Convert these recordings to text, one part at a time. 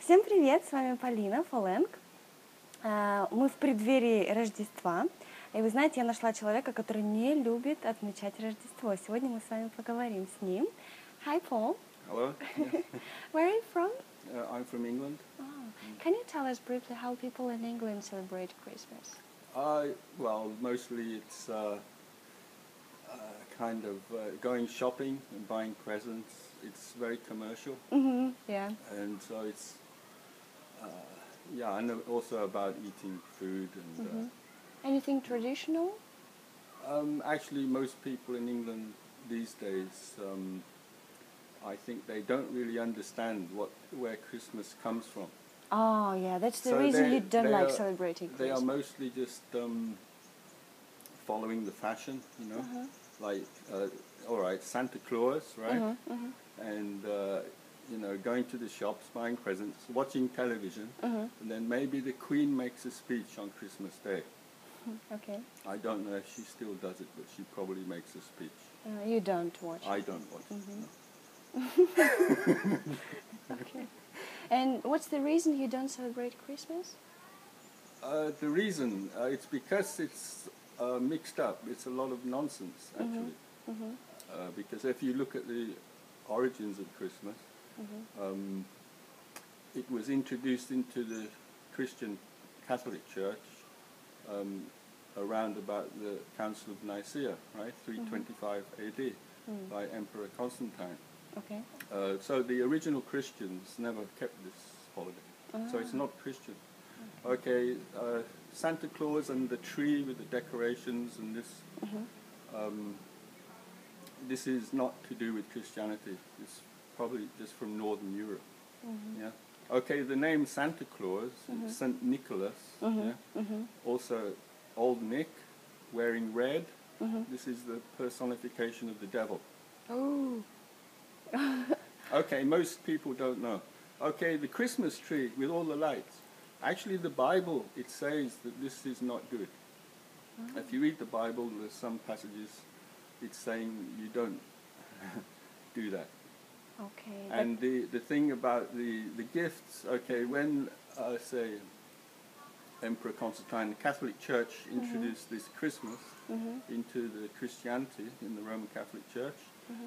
Всем привет, с вами Полина Фоленг. Мы в преддверии Рождества. И вы знаете, я нашла человека, который не любит отмечать Рождество. Сегодня мы с вами поговорим с ним. Hi, Paul. Hello. Yeah. Where are you from? I'm from England. Oh. Can you tell us briefly how people in England celebrate Christmas? Well, mostly it's kind of going shopping and buying presents. It's very commercial. Mm-hmm. Yeah. And so it's, and also about eating food. And Anything traditional? actually, most people in England these days, I think they don't really understand where Christmas comes from. Oh, yeah, that's the So reason you they don't like are- celebrating They Christmas. are mostly just following the fashion, you know, like, all right, Santa Claus, right? And, going to the shops, buying presents, watching television, and then maybe the Queen makes a speech on Christmas Day. Okay. I don't know if she still does it, but she probably makes a speech. You don't watch. I don't watch it. No. Okay. And what's the reason you don't celebrate Christmas? The reason, it's because it's mixed up. It's a lot of nonsense, actually. Because if you look at the origins of Christmas, it was introduced into the Christian Catholic Church around about the Council of Nicaea, right, 325 AD, by Emperor Constantine. Okay. So the original Christians never kept this holiday. So it's not Christian. Okay, Santa Claus and the tree with the decorations and this, this is not to do with Christianity. It's probably just from Northern Europe. Yeah. Okay, the name Santa Claus, Saint Nicholas, also Old Nick, wearing red. This is the personification of the devil. Oh. Okay, most people don't know. Okay, the Christmas tree with all the lights. Actually, the Bible, it says that this is not good. If you read the Bible, there's some passages, it's saying you don't do that. Okay. And the thing about the gifts, okay, when, say, Emperor Constantine, the Catholic Church introduced this Christmas into the Christianity in the Roman Catholic Church,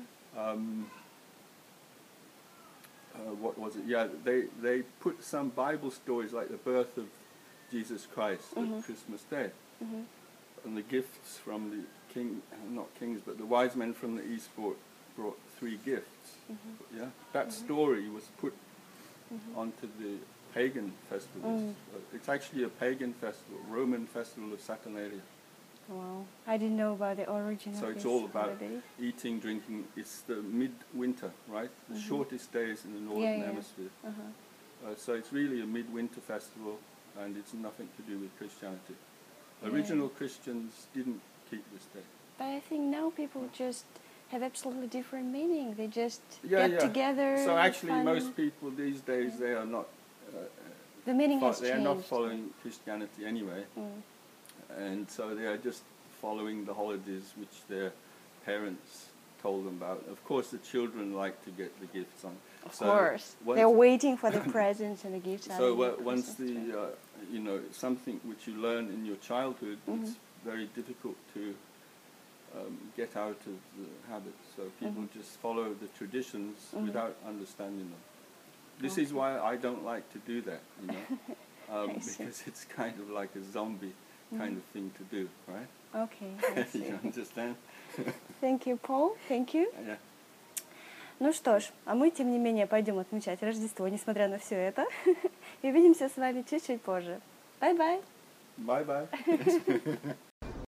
what was it? Yeah, they put some Bible stories like the birth of Jesus Christ at Christmas Day. And the gifts from the not kings, but the wise men from the east brought 3 gifts. Yeah, that story was put onto the pagan festivals. It's actually a pagan festival, Roman festival of Saturnalia. Wow. I didn't know about the origin So of it's this all about holiday. eating, drinking. It's the midwinter, right? The shortest days in the northern hemisphere. So it's really a midwinter festival, and it's nothing to do with Christianity. Original Christians didn't keep this day. But I think now people just have absolutely different meaning. They just Yeah, get together. So actually, fun. most people these days they are not. The meaning has They are changed. not following Christianity anyway, and so they are just following the holidays which their parents told them about. Of course, the children like to get the gifts on. Of course, they're waiting for the presents and the gifts. So once the something which you learn in your childhood, it's very difficult to get out of the habit. So people just follow the traditions without understanding them. This is why I don't like to do that, because it's kind of like a zombie kind of thing to do, right? Okay, I see. You understand? Thank you, Paul. Thank you. Yeah. Ну что ж, а мы, тем не менее, пойдем отмечать Рождество, несмотря на все это. И увидимся с вами чуть-чуть позже. Bye-bye. Bye-bye.